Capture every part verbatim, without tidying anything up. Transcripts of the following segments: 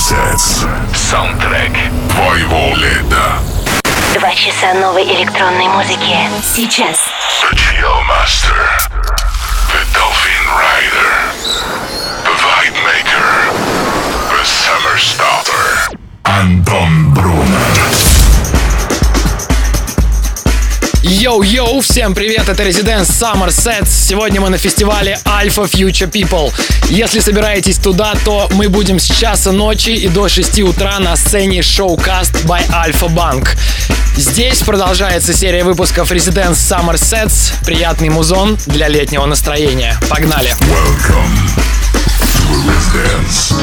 Sets. Саундтрек твоего лета. Два часа новой электронной музыки. Сейчас. The Chill Master. The Dolphin Rider. The Vibe Maker. The Summer Starter. Антон Брунер. Йоу-йоу, всем привет, это Residence Summer Sets. Сегодня мы на фестивале Alpha Future People. Если собираетесь туда, то мы будем с часа ночи и до шести утра на сцене Showcast by Alpha Bank. Здесь продолжается серия выпусков Residence Summer Sets. Приятный музон для летнего настроения. Погнали! Welcome to Residence.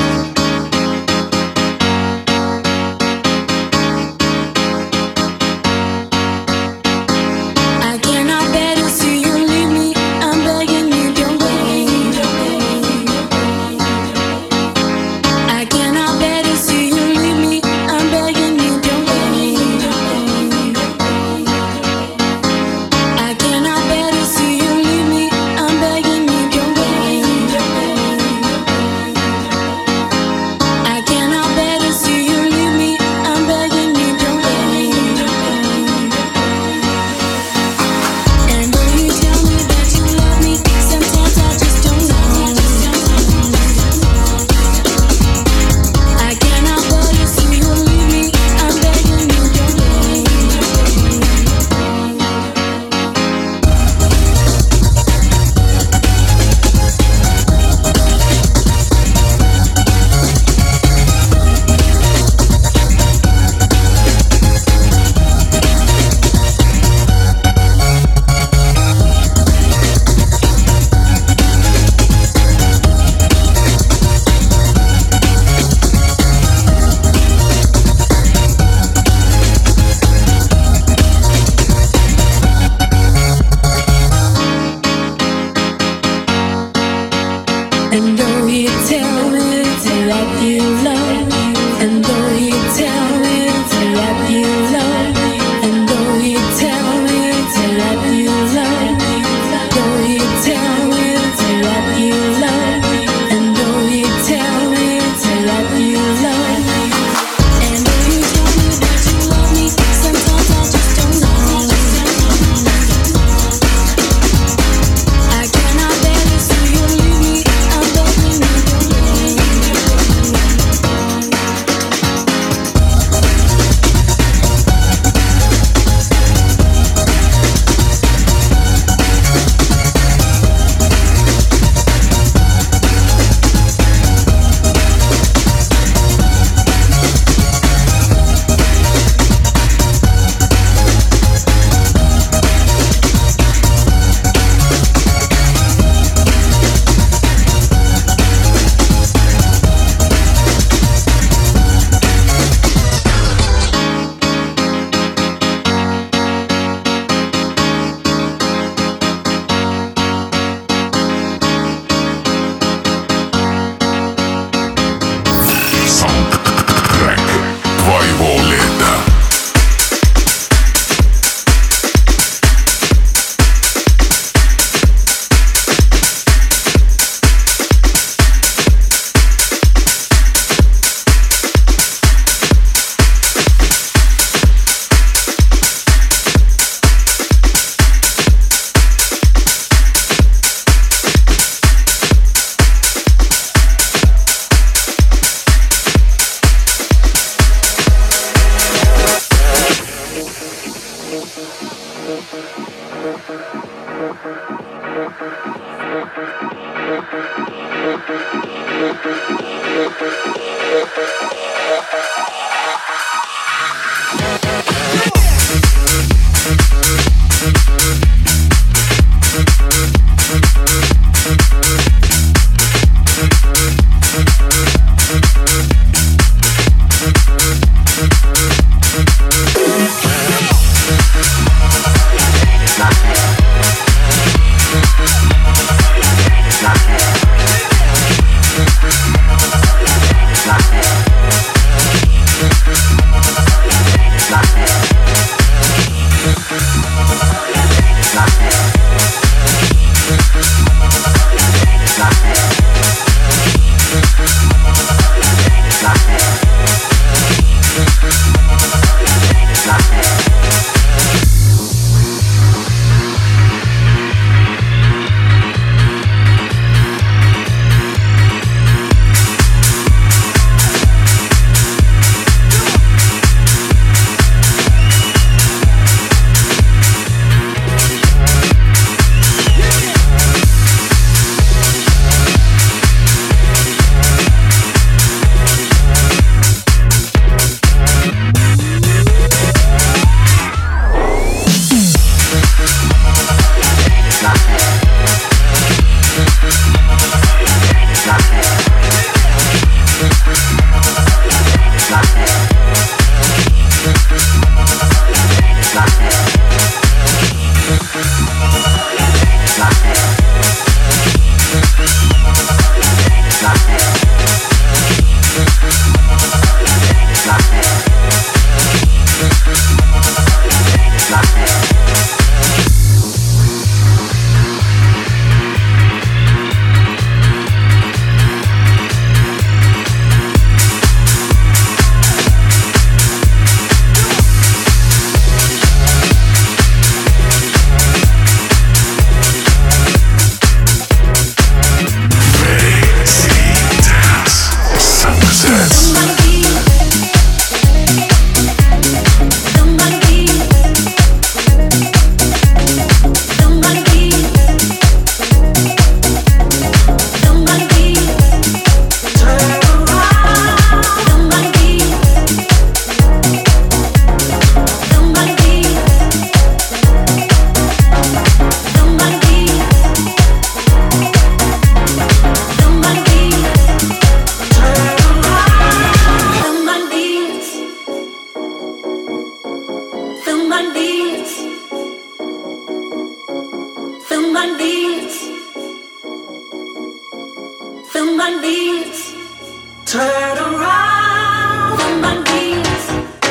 feel my knees turn around, feel my knees,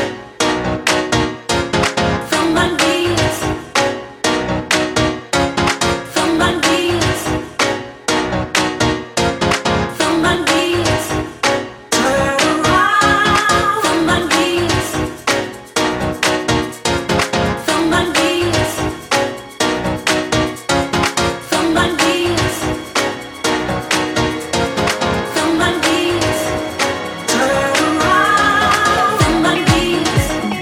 feel my knees, feel my knees, feel my knees turn around, feel my knees, feel my knees, feel my knees. Feel my knees turn around. Feel my knees.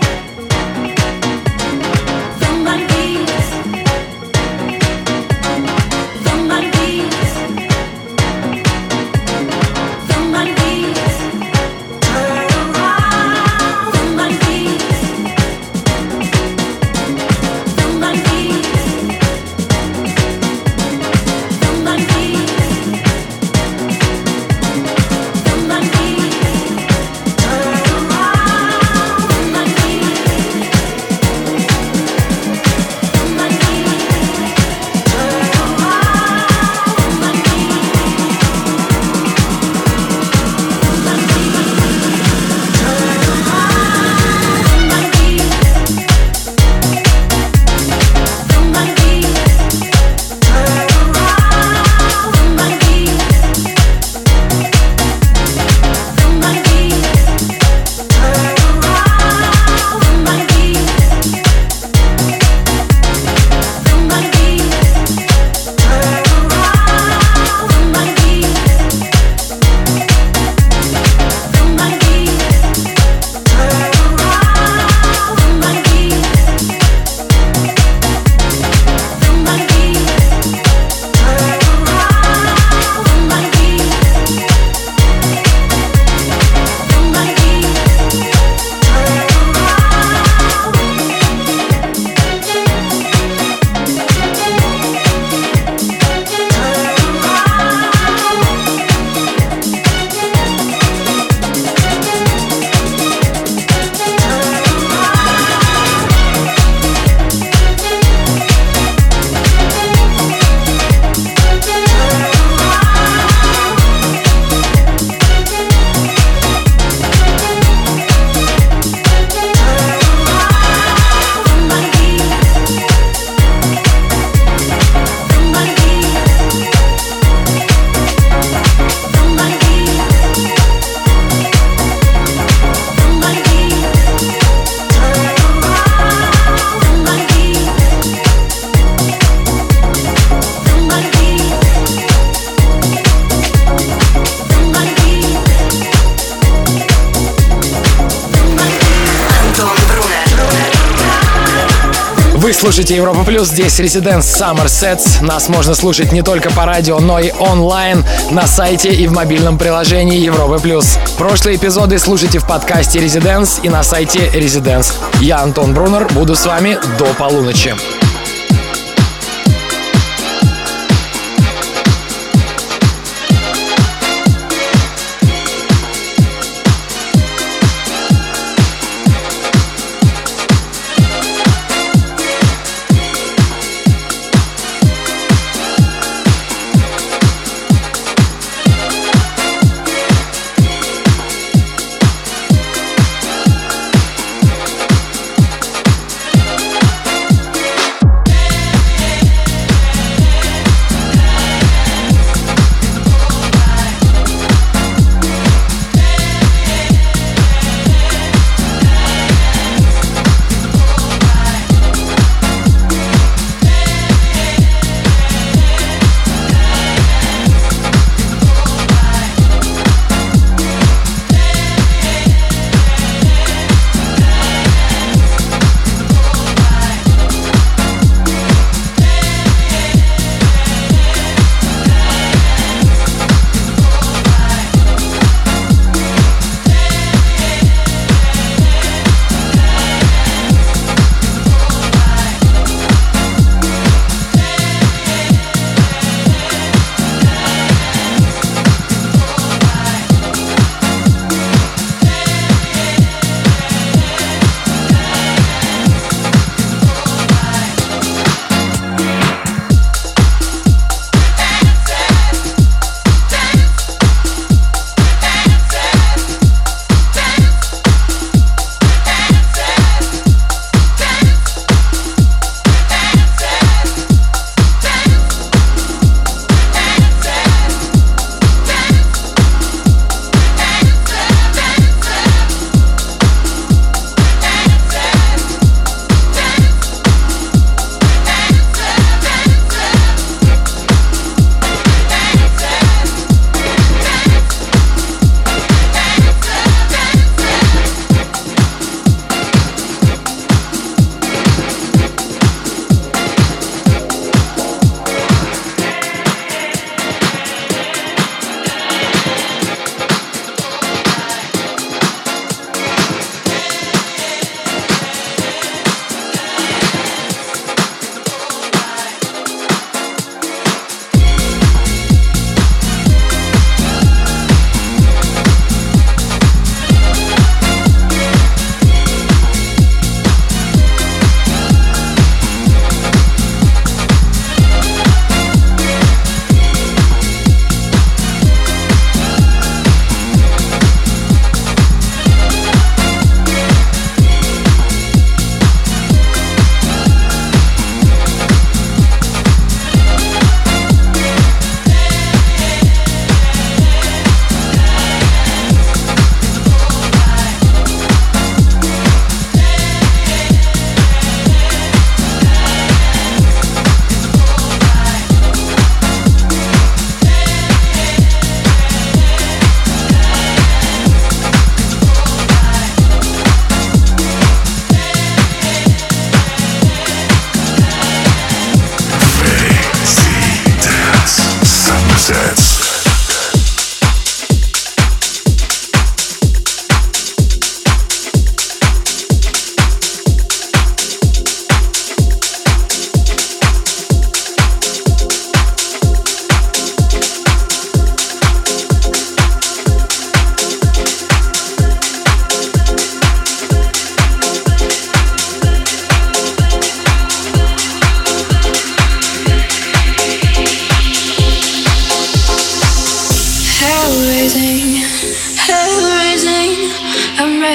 Feel my knees. Feel my knees. Feel my knees turn around. Feel my knees. Feel my knees. Feel my knees. Feel my knees turn around. Feel my knees. Feel my knees turn around. Feel my knees. Feel my knees turn around. Feel my knees. Feel my knees turn around. Feel my knees. Feel my knees turn around. Feel my knees. Feel my knees turn around. Feel my knees. Feel my knees turn around. Feel my knees. Feel my knees turn around. Feel my knees. Feel my knees Вы слушаете Европа Плюс, здесь Residence Summer Sets. Нас можно слушать не только по радио, но и онлайн, на сайте и в мобильном приложении Европа Плюс. Прошлые эпизоды слушайте в подкасте Residence и на сайте Residence. Я Антон Брунер, буду с вами до полуночи.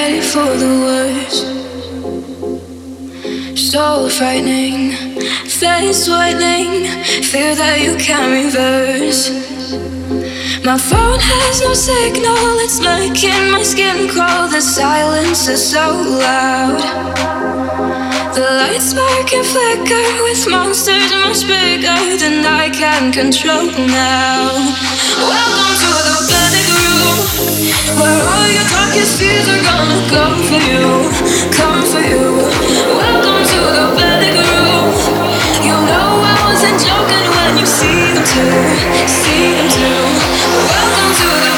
ready for the worst. So frightening, face whitening, fear that you can't reverse. My phone has no signal, it's making my skin crawl. The silence is so loud. The lights spark and flicker with monsters much bigger than I can control now. Welcome to the panic room, where all your darkest fears are gonna go for you, come for you. Welcome to the panic room. You know I wasn't joking when you see them too, see them too. Welcome to the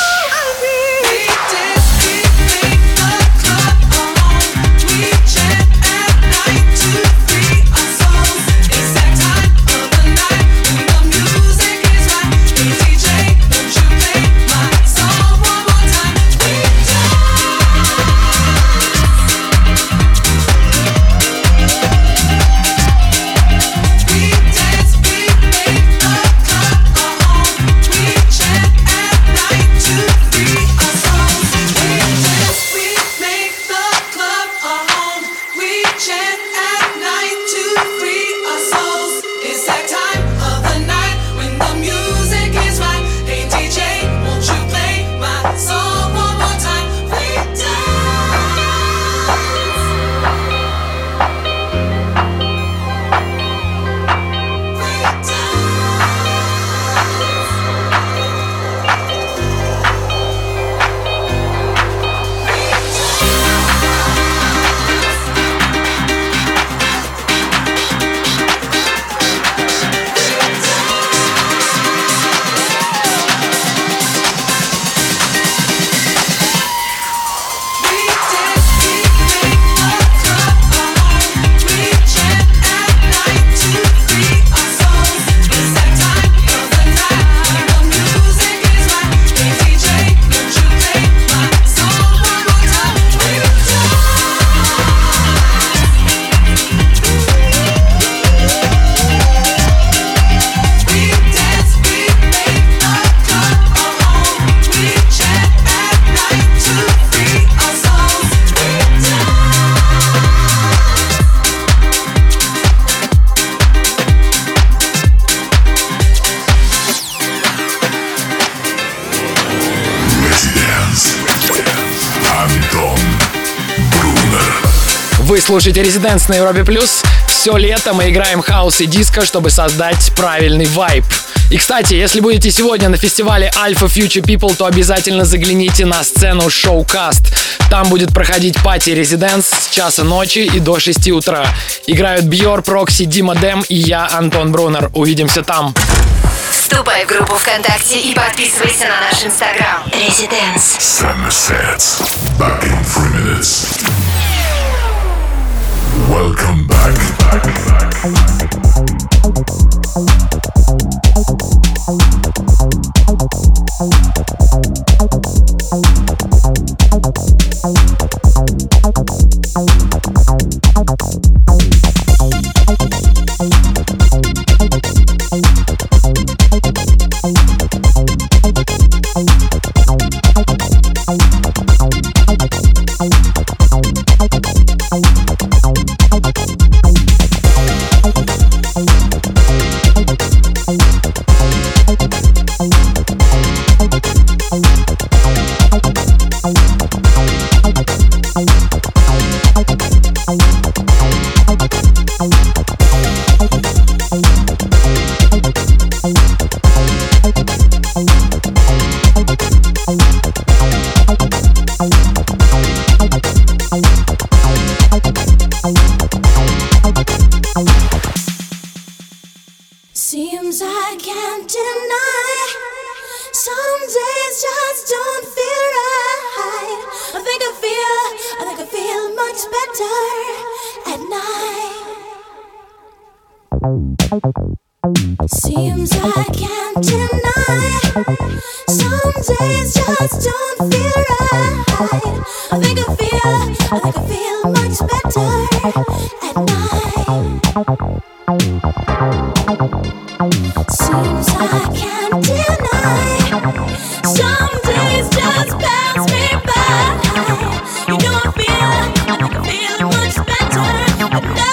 Reaching Вы слушаете Residence на Европе Плюс. Все лето мы играем хаус и диско, чтобы создать правильный вайб. И, кстати, если будете сегодня на фестивале Alpha Future People, то обязательно загляните на сцену Showcast. Там будет проходить пати Residence с часа ночи и до шести утра. Играют Бьор, Прокси, Дима Дэм и я, Антон Брунер. Увидимся там. Вступай в группу ВКонтакте и подписывайся на наш Инстаграм. Residence. Summer Sets. Back in three minutes. Welcome back. back, back. Seems I can't deny. Some days just don't feel right. I think I feel, I think I feel much better at night. Seems I can't deny. Some days just don't feel right. I think I feel, I think I feel much better at night. Seems I can't deny. Some days just pass me by. You know I feel, I think I feel much better at night.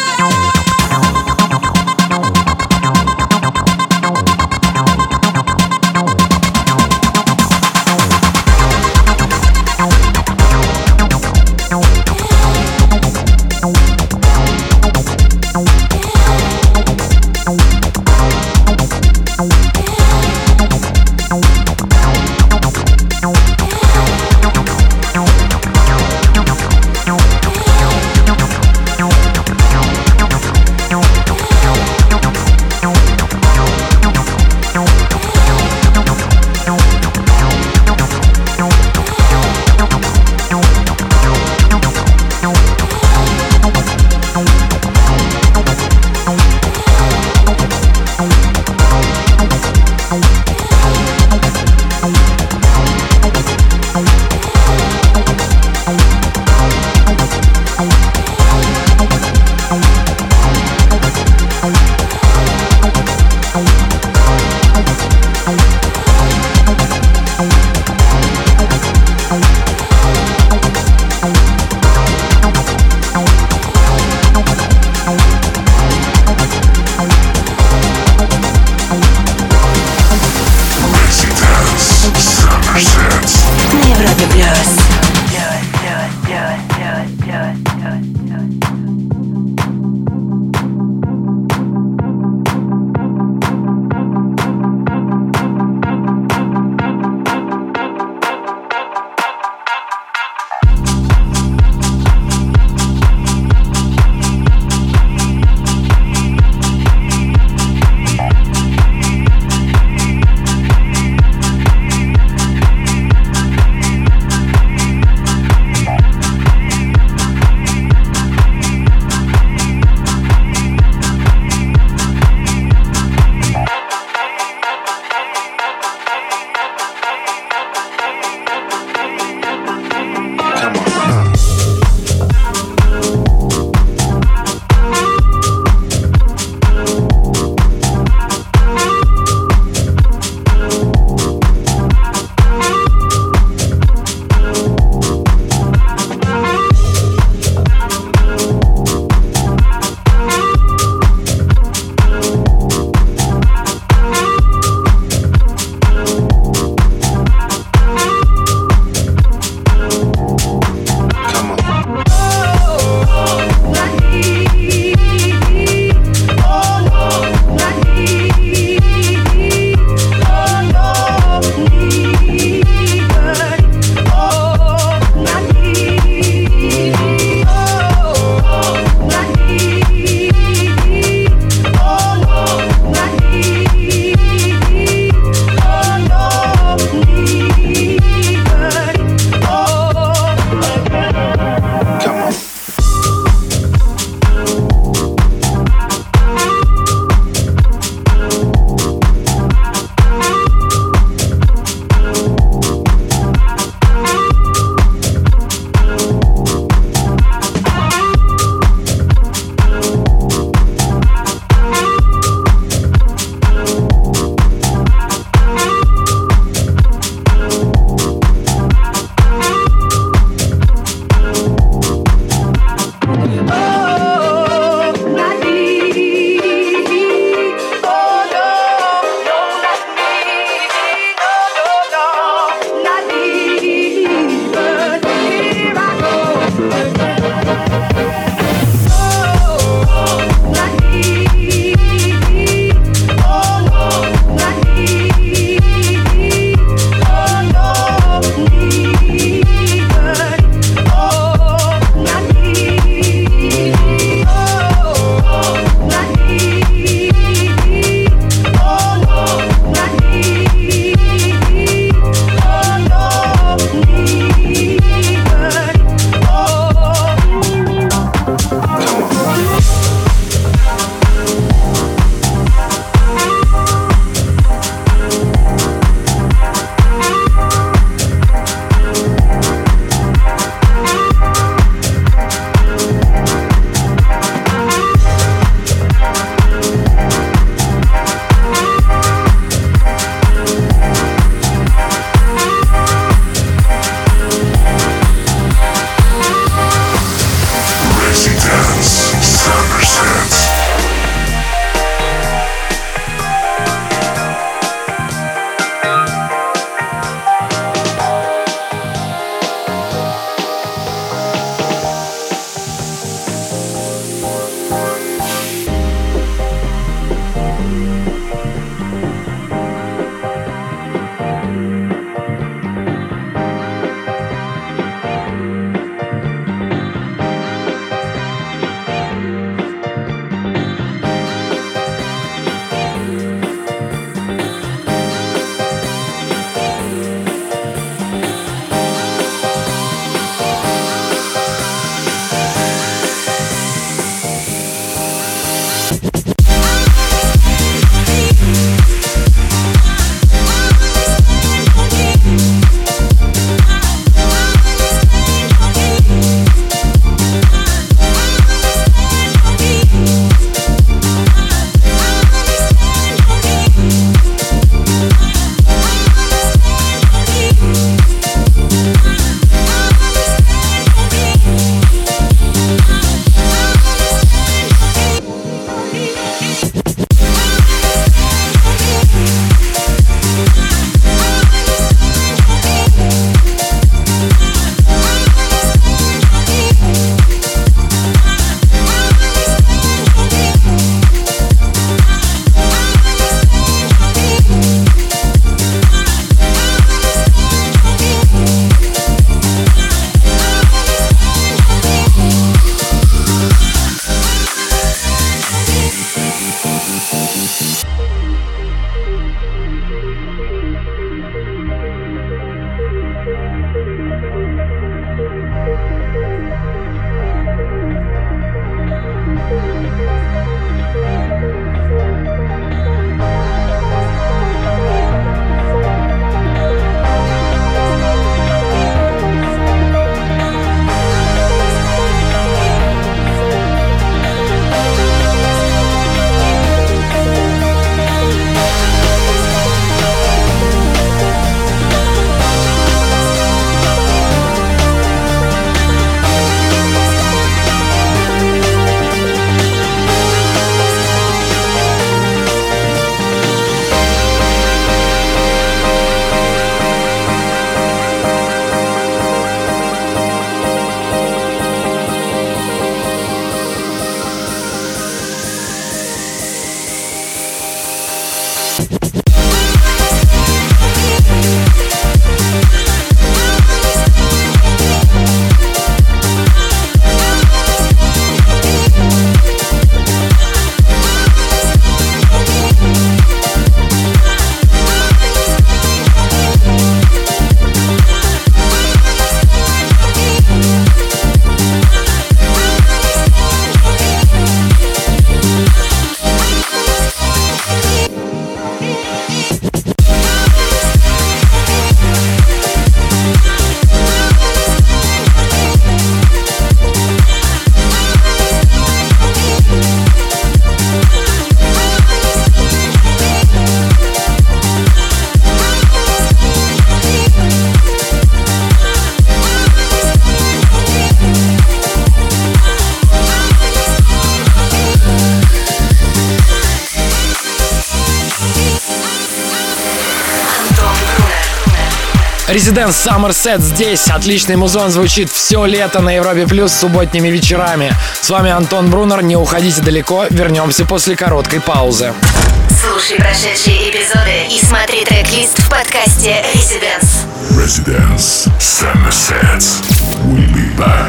Residence Summer Set здесь. Отличный музон звучит все лето на Европе Плюс субботними вечерами. С вами Антон Брунер. Не уходите далеко. Вернемся после короткой паузы. Слушай прошедшие эпизоды и смотри трек-лист в подкасте Residence. Residence Summer Sets. We'll be back.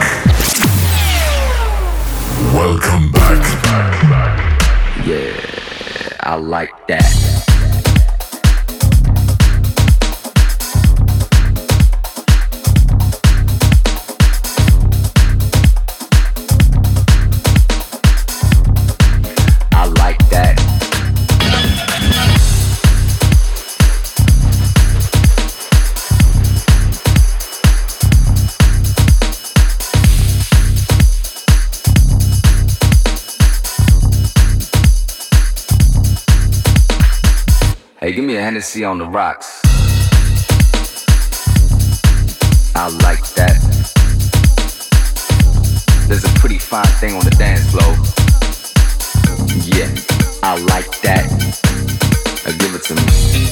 Welcome back. back, back. Yeah, I like that. I like that. Hey, give me a Hennessy on the rocks. I like that. There's a pretty fine thing on the dance floor. Yeah, I like that. Now give it to me.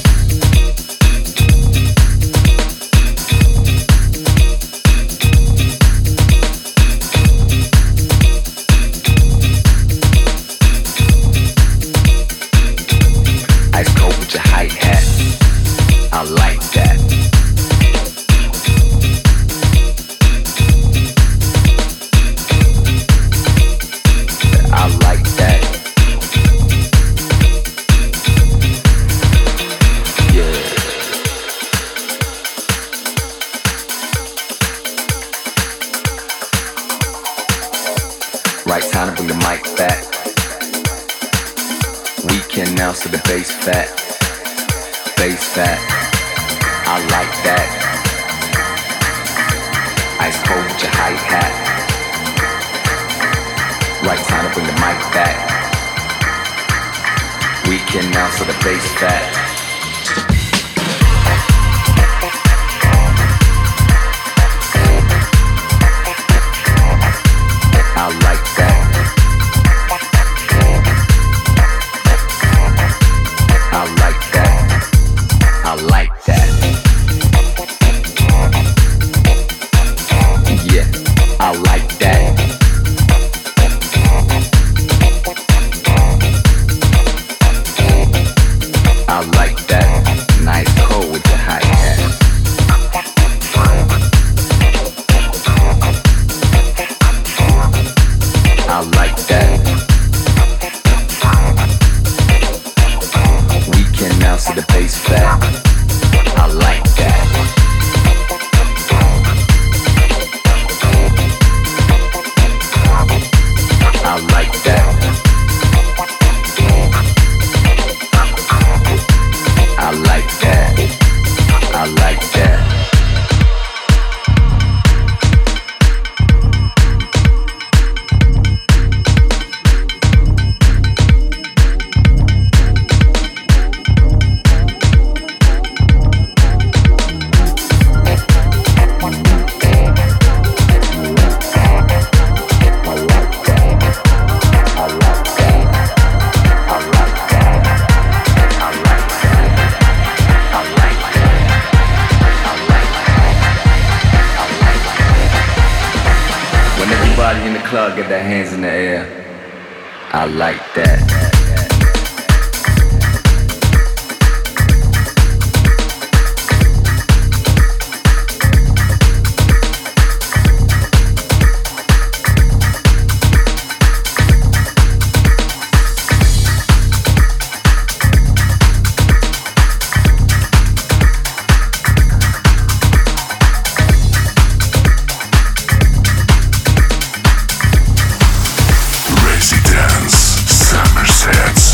Ice cold with your hi-hat. I like that. I like that. Yeah. Right time to bring the mic back. We can now see the bass fat, bass fat. I like that. Ice cold with your hi-hat. Right time to bring the mic back. We can now see the bass fat. I like that. I like that. I like that. Yeah, I like that. I like that. Nice cold with the hi-hat. I like that. We can now see the bass fat. I like that. I like that. I like that. I like that. In the club, get their hands in the air. I like that. Residence Summer Sets.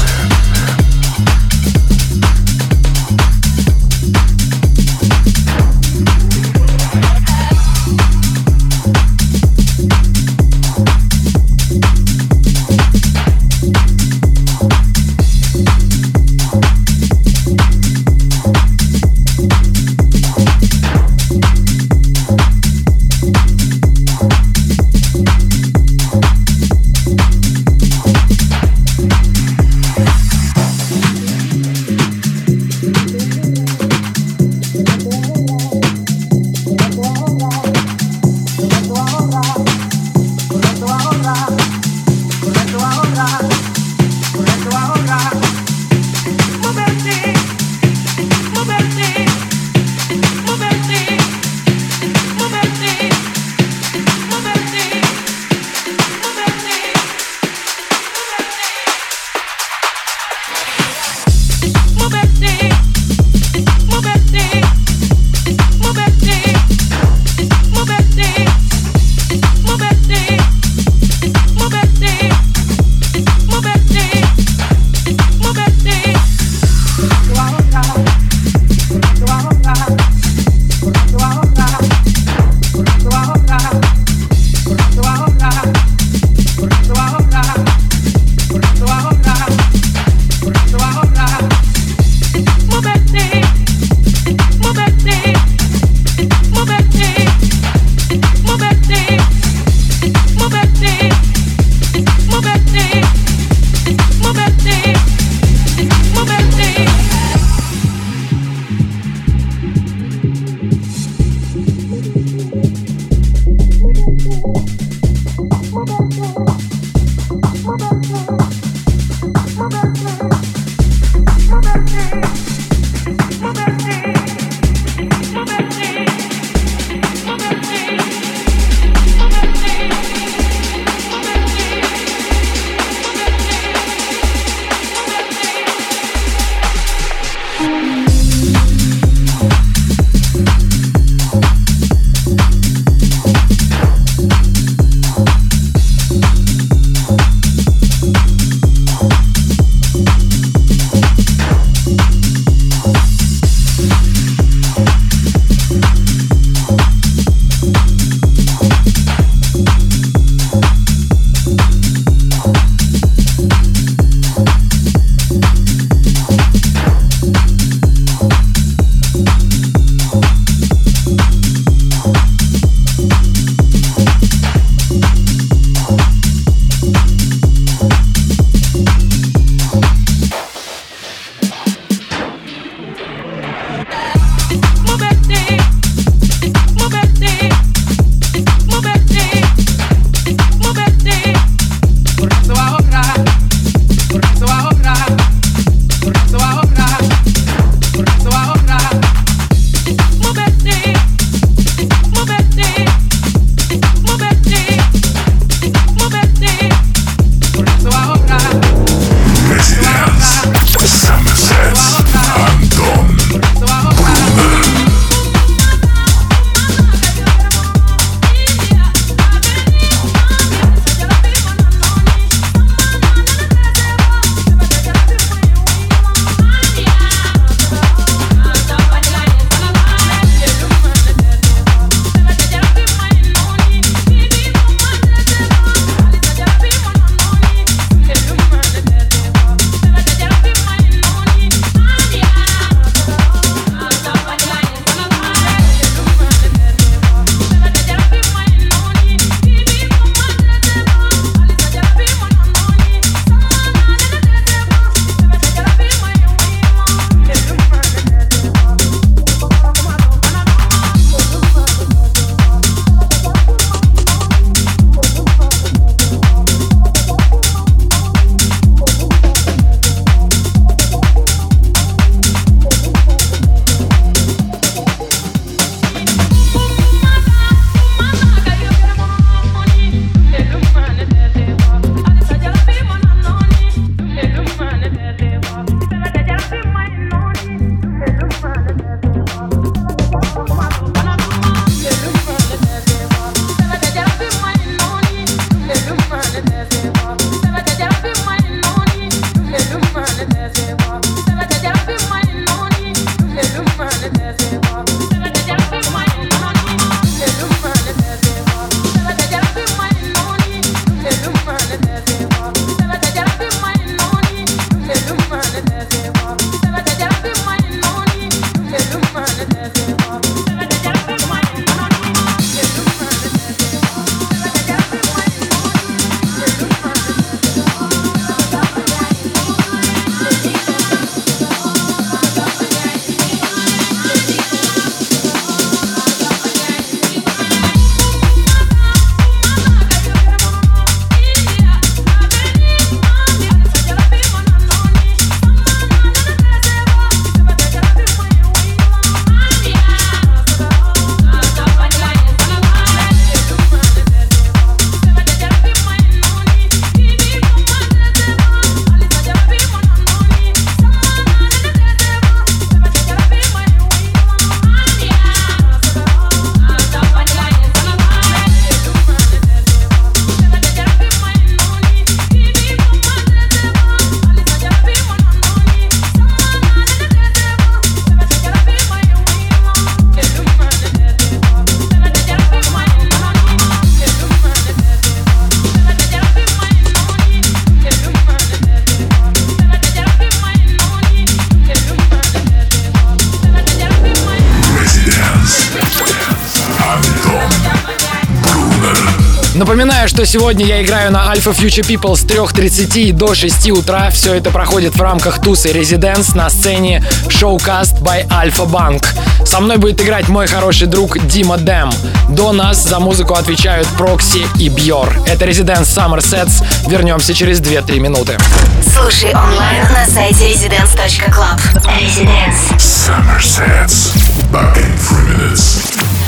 Напоминаю, что сегодня я играю на Alpha Future People с трёх тридцати до шести утра. Все это проходит в рамках туса Residence на сцене Showcast by Alpha Bank. Со мной будет играть мой хороший друг Дима Дэм. До нас за музыку отвечают Прокси и Бьор. Это Residence Summer Sets. Вернемся через две-три минуты. Слушай онлайн на сайте residence точка club. Residence Summer Sets. Back in three minutes.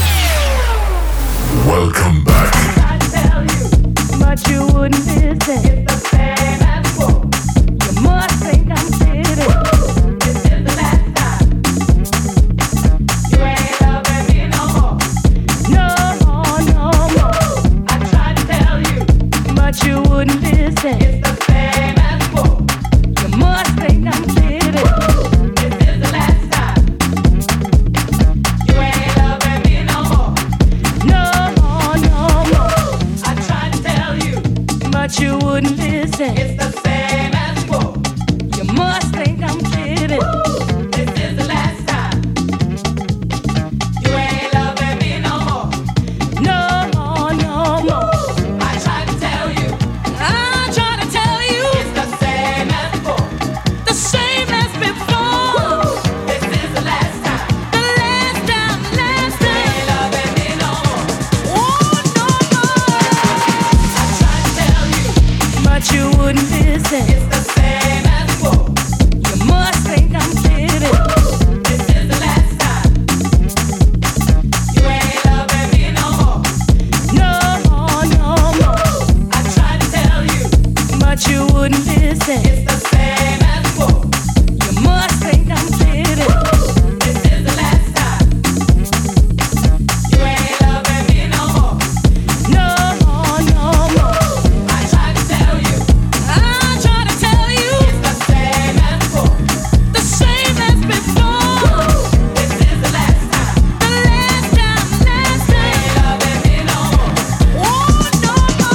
Welcome back. But you wouldn't listen. It's the same as before. You must think I'm kidding. This is the last time. You ain't loving me no more. No more, no more. I tried to tell you, but you wouldn't listen. It's the same as before. You must think I'm kidding. This is the last time. You ain't loving me no more. No more, no more. I tried to tell you, but you wouldn't listen. It's the same as before. You must think I'm kidding. This is the last time. You ain't loving me no more. No more, no more. I tried to tell you. I tried to tell you. It's the same as before. The same as before. This is the last time. The last time, last time. You ain't loving me no more. Oh, no more. I tried to tell you, but you wouldn't listen. It's the same as before. You must think I'm kidding. This is the last time. You ain't loving me no more. No more, no more. I tried to tell you, but you wouldn't listen. It's the same as before. You must think I'm kidding. This is the last time. You ain't loving me no more. No more, no more. I tried to tell you. I tried to tell you. It's the same as before. The same as before. This is the last time. The last time, last time. You ain't loving me no more. Oh, no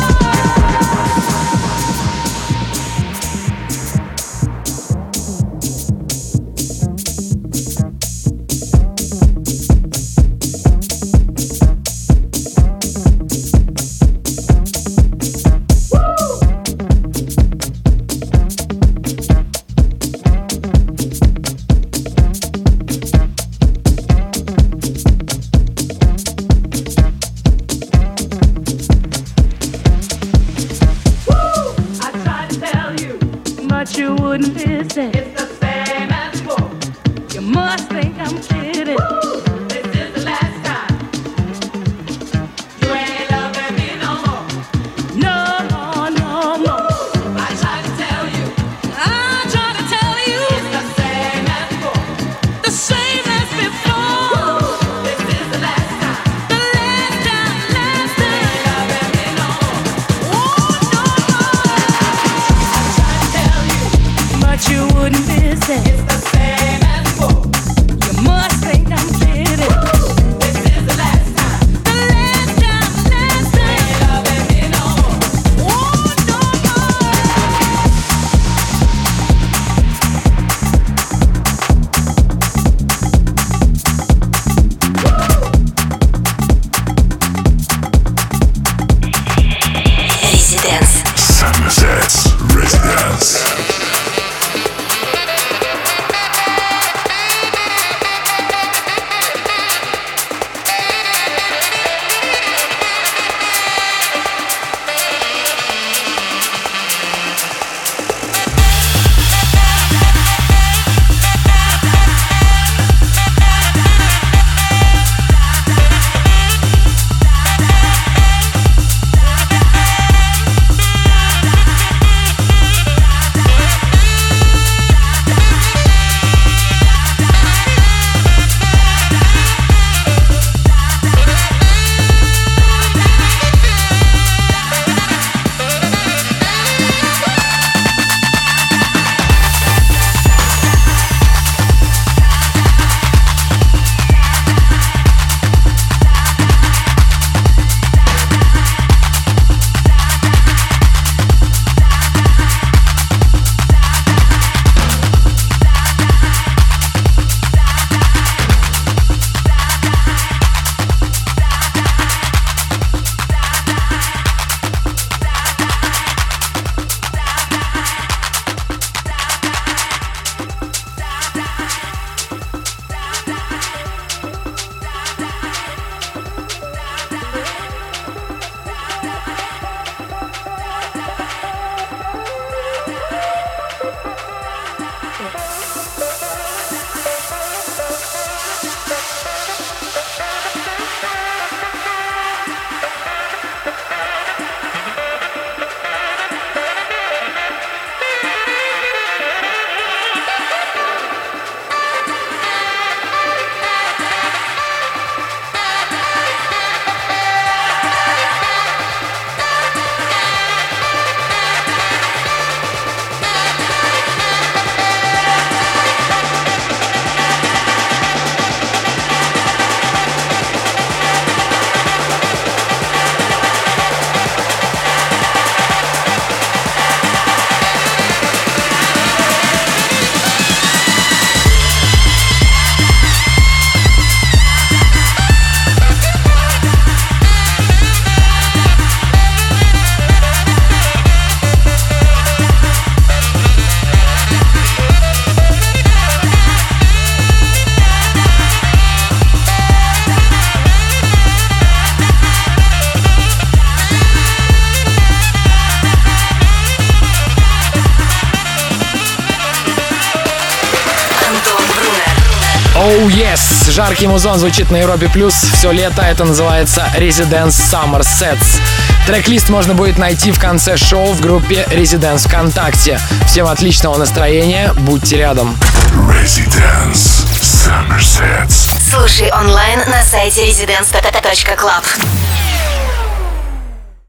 I tried to tell you, but you wouldn't listen. It's the same as before. You must think I'm kidding. This is the last time. You ain't loving me no more. No more, no more. I tried to tell you. I tried to tell you. It's the same as before. The same as before. This is the last time. The last time, last time. You ain't loving me no more. Oh, no more. I tried to tell you, but you wouldn't listen. It's the same as before. You must think I'm kidding. Oh yes! Жаркий музон звучит на Европе Плюс все лето. Это называется Residence Summer Sets. Трек-лист можно будет найти в конце шоу в группе Residence ВКонтакте. Всем отличного настроения, будьте рядом. Residence Summer Sets. Слушай онлайн на сайте residence точка club.